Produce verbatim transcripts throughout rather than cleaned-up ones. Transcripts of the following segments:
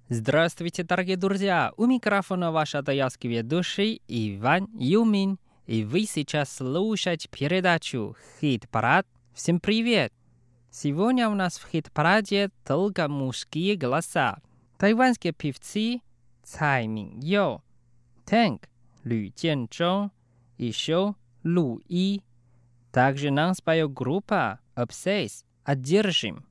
Здравствуйте, дорогие друзья! У микрофона ваш атаялский ведущий Иван Юмин. И вы сейчас слушаете передачу «Хит-парад». Всем привет! Сегодня у нас в хит-параде только мужские голоса. Тайванские певцы Цай Миньё, Тэнк, Лю Jianzhong, еще Лу И. Также нам споет группа Obsess «Одержим».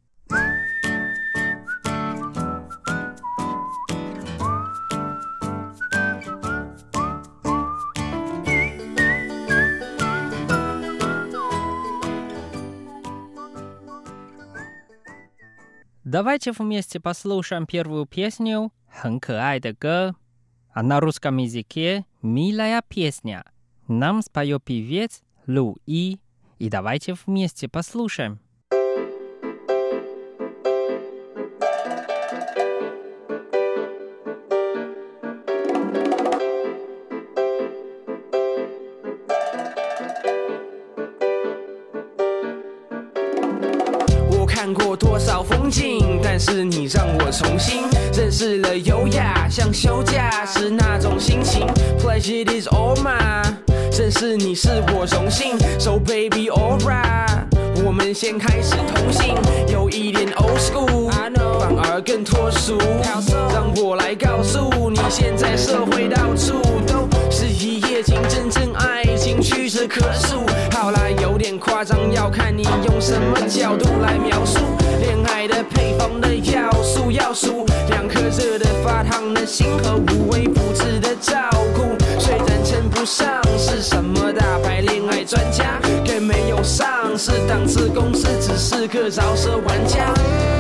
Давайте вместе послушаем первую песню «很可爱的歌», а на русском языке «Милая песня». Нам споет певец Лу И, и давайте вместе послушаем. 看过多少风景，但是你让我重新认识了优雅，像休假时那种心情。Pleasure is all mine， 认识你是我荣幸。So baby alright， 我们先开始同行，有一点 old school， 反而更脱俗。让我来告诉你，现在社会到处都是一夜情，真正爱情屈指可数。好啦，有点夸张，要看你用什么角度来描述。恋爱的配方的要素要数，两颗热的发烫的心和无微不至的照顾。虽然称不上是什么大牌恋爱专家，更没有上市档次公司，只是个饶舌玩家。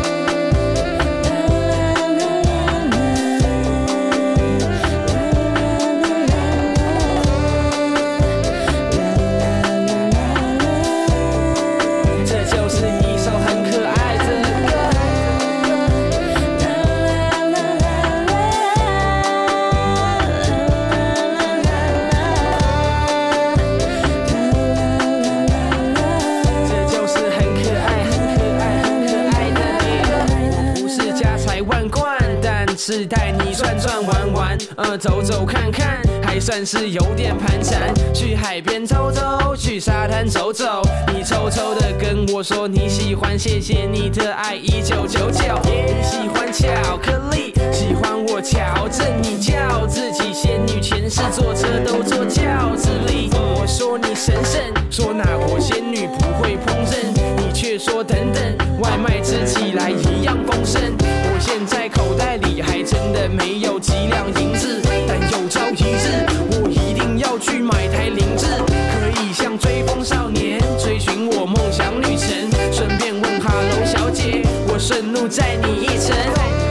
是带你转转玩玩，呃，走走看看，还算是有点盘缠。去海边走走，去沙滩走走，你偷偷的跟我说你喜欢，谢谢你的爱，一九九九。你喜欢巧克力，喜欢我调整你，叫自己仙女，前世坐车都坐轿子里。我说你神圣，说哪国仙女不会烹饪，你却说等等，外卖吃起来一样丰盛。我现在口袋里还真的没有几两银子，但有朝一日我一定要去买台凌志，可以像追风少年追寻我梦想旅程。顺便问哈喽小姐，我顺路载你一程。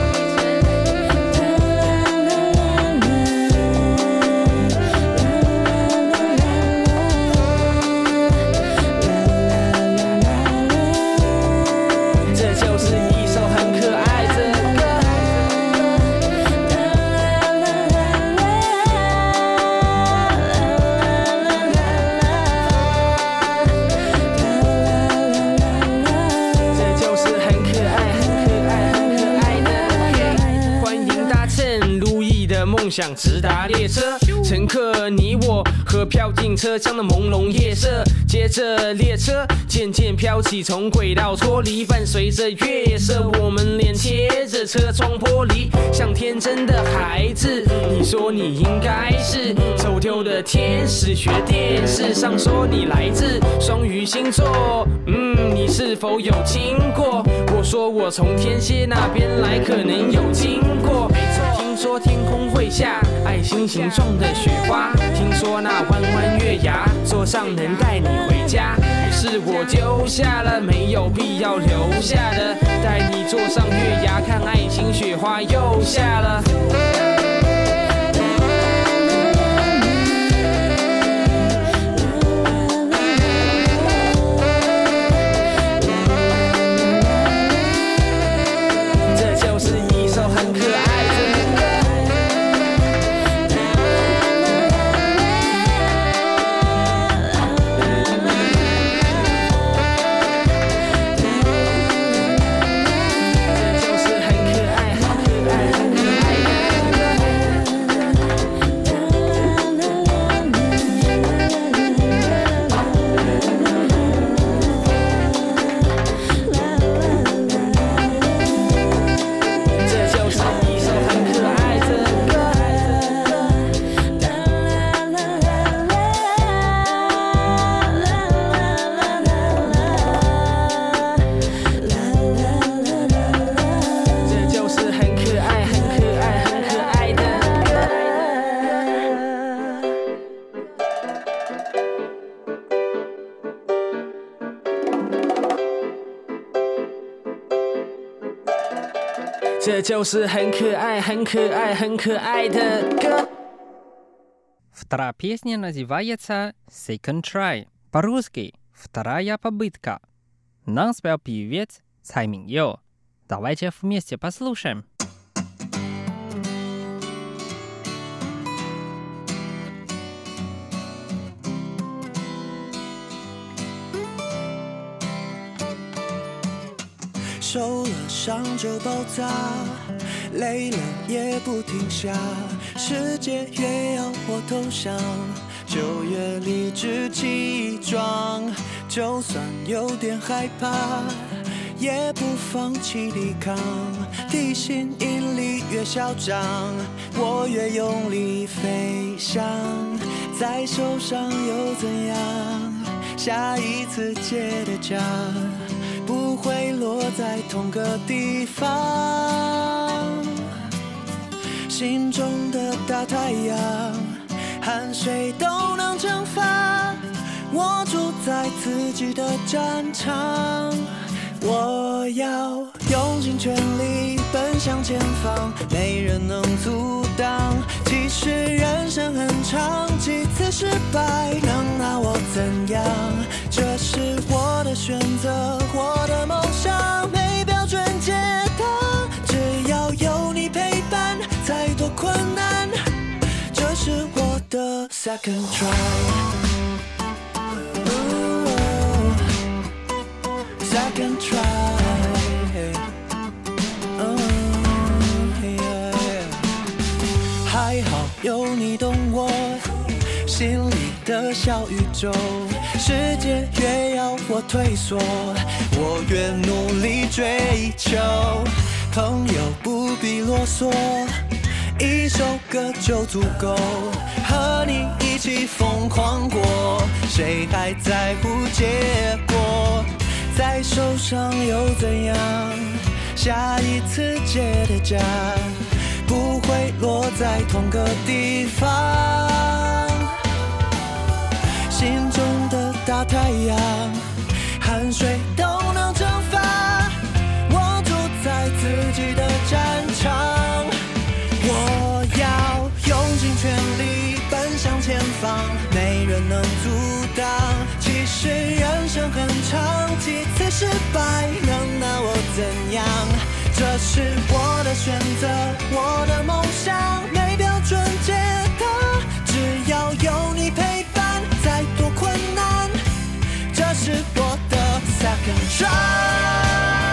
想直达列车，乘客你我和飘进车厢的朦胧夜色。接着列车渐渐飘起，从轨道脱离，伴随着月色，我们脸贴着车窗玻璃，像天真的孩子。你说你应该是走丢的天使，学电视上说你来自双鱼星座，嗯，你是否有听过？我说我从天蝎那边来，可能有经过。听说天空会下爱心形状的雪花，听说那弯弯月牙坐上能带你回家，于是我丢下了没有必要留下的，带你坐上月牙看爱情雪花又下了。爱这就是很可爱很可爱很可爱的歌。 Вторая песня называется Second Try. По-русски «Вторая попытка». Нам спел певец Цай Миньо. Давайте вместе послушаем. 受了伤就爆炸，累了也不停下，世界越要我投降，就越理直气壮，就算有点害怕，也不放弃抵抗，地心引力越嚣张，我越用力飞翔，再受伤又怎样，下一次接的家不会落在同个地方，心中的大太阳，汗水都能蒸发，我住在自己的战场，我要用尽全力奔向前方，没人能阻挡，其实人生很长，几次失败能拿我怎样，这是我的选择，我的梦想没标准解答，只要有你陪伴，再多困难，这是我的 second try。Second try、oh, yeah. 还好有你懂我心里的小宇宙，世界越要我退缩，我越努力追求，朋友不必啰嗦，一首歌就足够，和你一起疯狂过，谁还在乎结果，再受伤又怎样，下一次接的家不会落在同个地方，心中的大太阳，汗水都能蒸发，我住在自己的战场，我要用尽全力奔向前方，没人能阻挡，其实人生很长，几次失败能拿我怎样，这是我的选择，我的梦想没标准解答，只要有你陪伴，再多困难，这是我的 second try。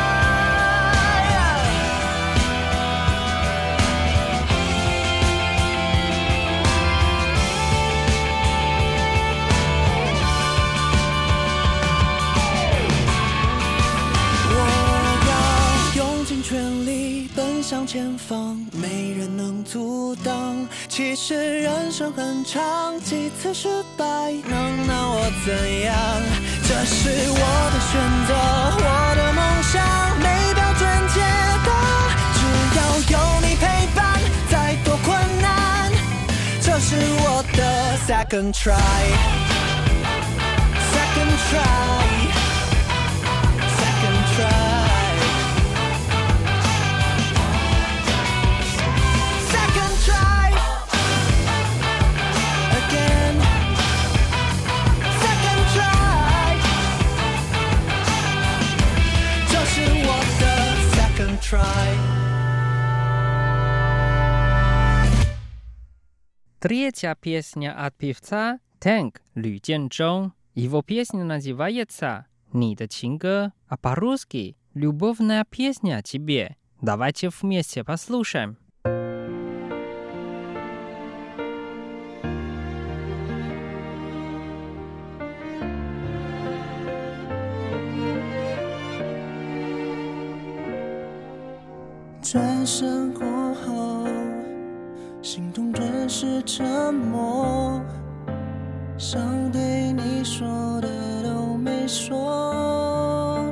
全力奔向前方，没人能阻挡，其实人生很长，几次失败能拿我怎样，这是我的选择，我的梦想没标准解答，只要有你陪伴，再多困难，这是我的 second try second try second try Третья песня от певца Тэнк Лю Jianzhong. Его песня называется «你的情歌», а по-русски «Любовная песня тебе». Давайте вместе послушаем. 转身过后，心动顿时沉默，想对你说的都没说。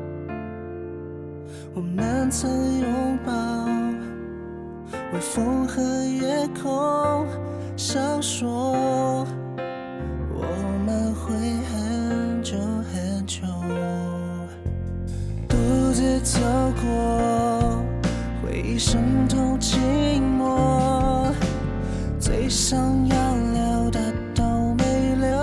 我们曾拥抱，微风和夜空闪烁，我们会很久很久，独自走过。回忆渗透寂寞，最想要留的都没留，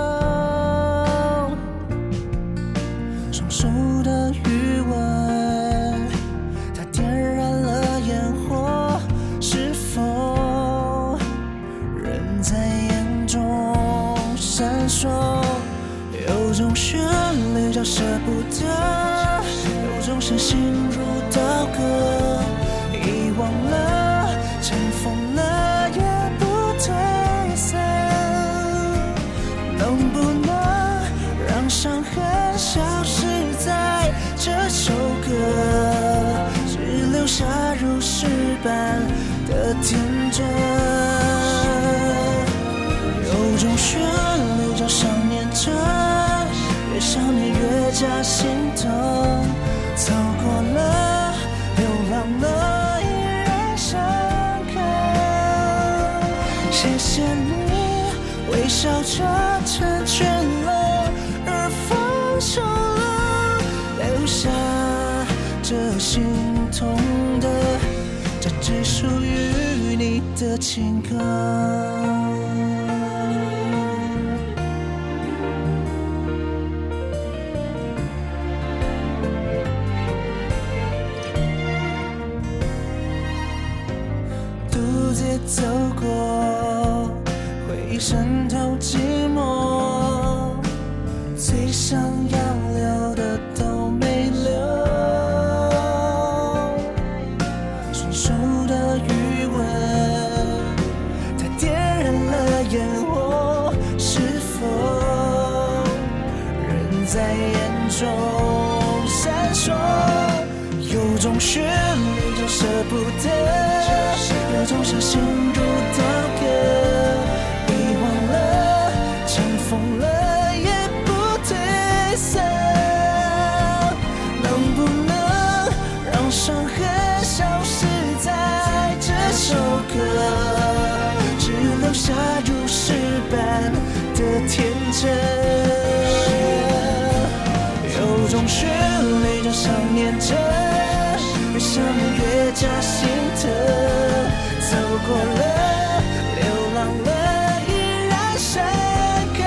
双手的余温，它点燃了烟火，是否仍在眼中闪烁？有种旋律叫舍不得，有种是心如刀割，遗忘了，尘封了也不退散。能不能让伤痕消失在这首歌，只留下如诗般的天真？有种旋律叫想念着，越想念越加心疼，走过了，流浪了，依然深刻。谢谢你微笑着成全了，而放手了，留下这心痛的，这只属于你的情歌。走过，回忆渗透寂寞，最想要留的都没留，双手的余温，它点燃了烟火，是否仍在眼中闪烁？有种旋律就舍不得，有种是心如刀割，遗忘了，尘封了也不退散。能不能让伤痕消失在这首歌，只留下如诗般的天真？有种旋律叫想念着，越想念越加心疼，走过了，流浪了，依然深刻。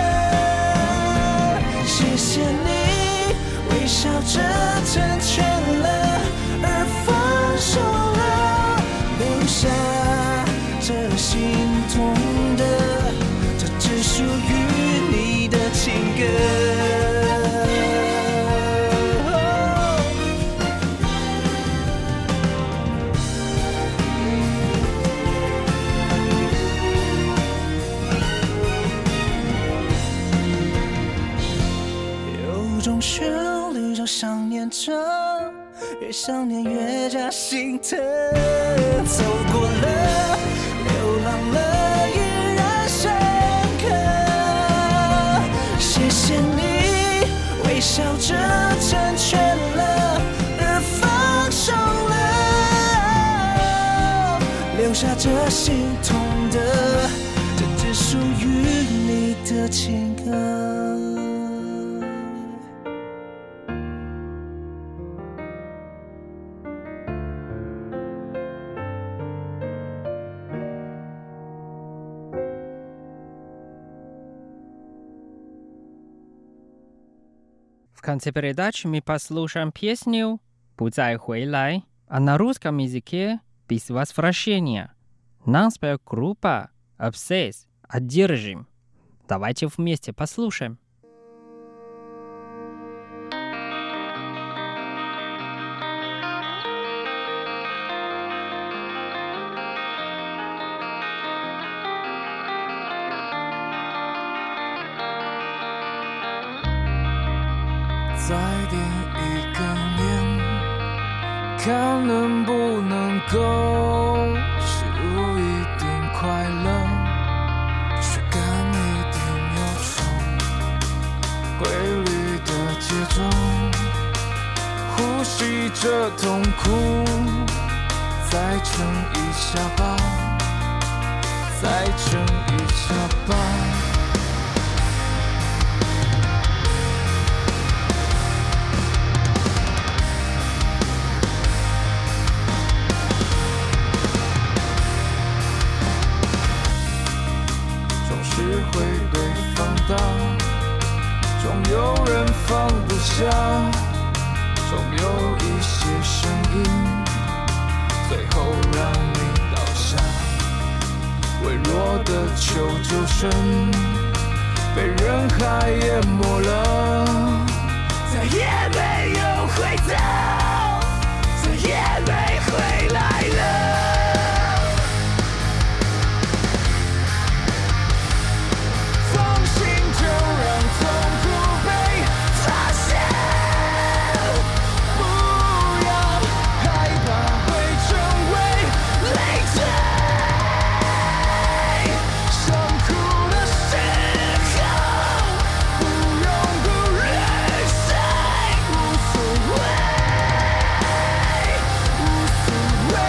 谢谢你微笑着成全了，而放手了，留下这心痛的，这只属于你的情歌。想念着，越想念越加心疼，走过了，流浪了，依然深刻。谢谢你微笑着成全了，而放手了，留下这心痛的，这只属于你的情歌。 В конце передачи мы послушаем песню «Путай хуйлай», а на русском языке «Без возвращения». Нам споет группа «Обсесс». «Одержим». Давайте вместе послушаем. 再点一根烟，看能不能够吸入一点快乐，驱赶一点忧愁，规律的节奏，呼吸着痛苦，再撑一下吧，再撑一下吧。 些声音，最后让你倒下。微弱的求救声被人海淹没了，再也没有回头，再也没回来了。放心就让痛苦被发现，不要害怕会成为累赘。伤苦的时候不用顾虑谁，无所谓，无所谓。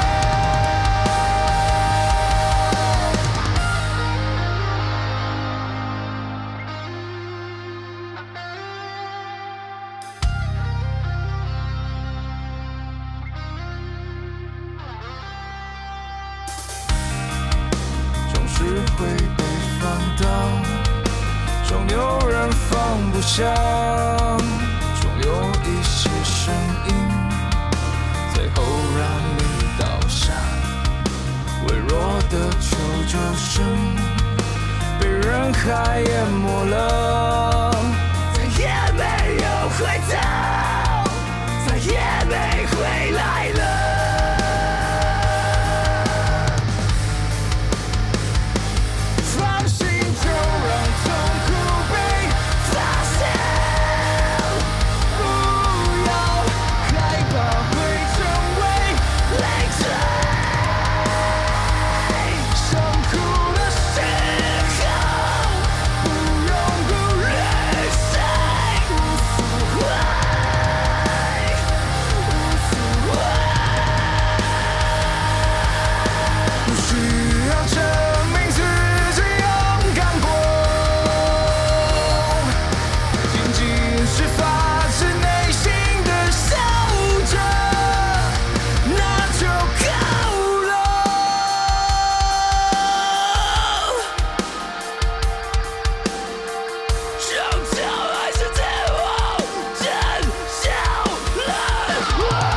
总是会被放大，总有人放不下，总有一些声音最后让你倒下。微弱的求救声被人海淹没了，再也没有回头，再也没回来了。放心就让痛苦被发现，不要害怕会成为累赘。伤苦的时候不用顾虑谁，无所谓，无所谓。不需要证明自己勇敢过，仅仅是发自内心的笑着，那就够了。终究还是自我真相了。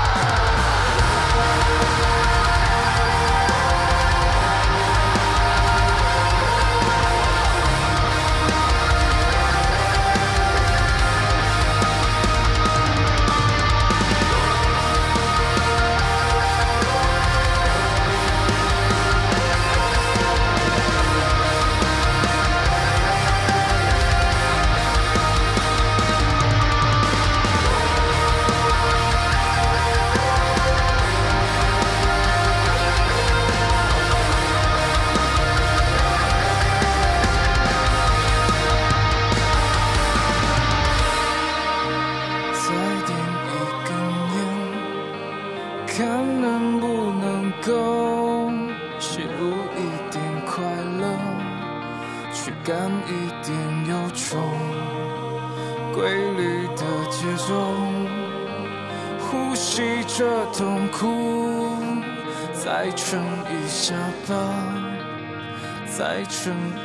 再点一根烟，看能不能够吸入一点快乐，驱赶一点忧愁，规律的节奏，呼吸着痛苦，再撑一下吧，再撑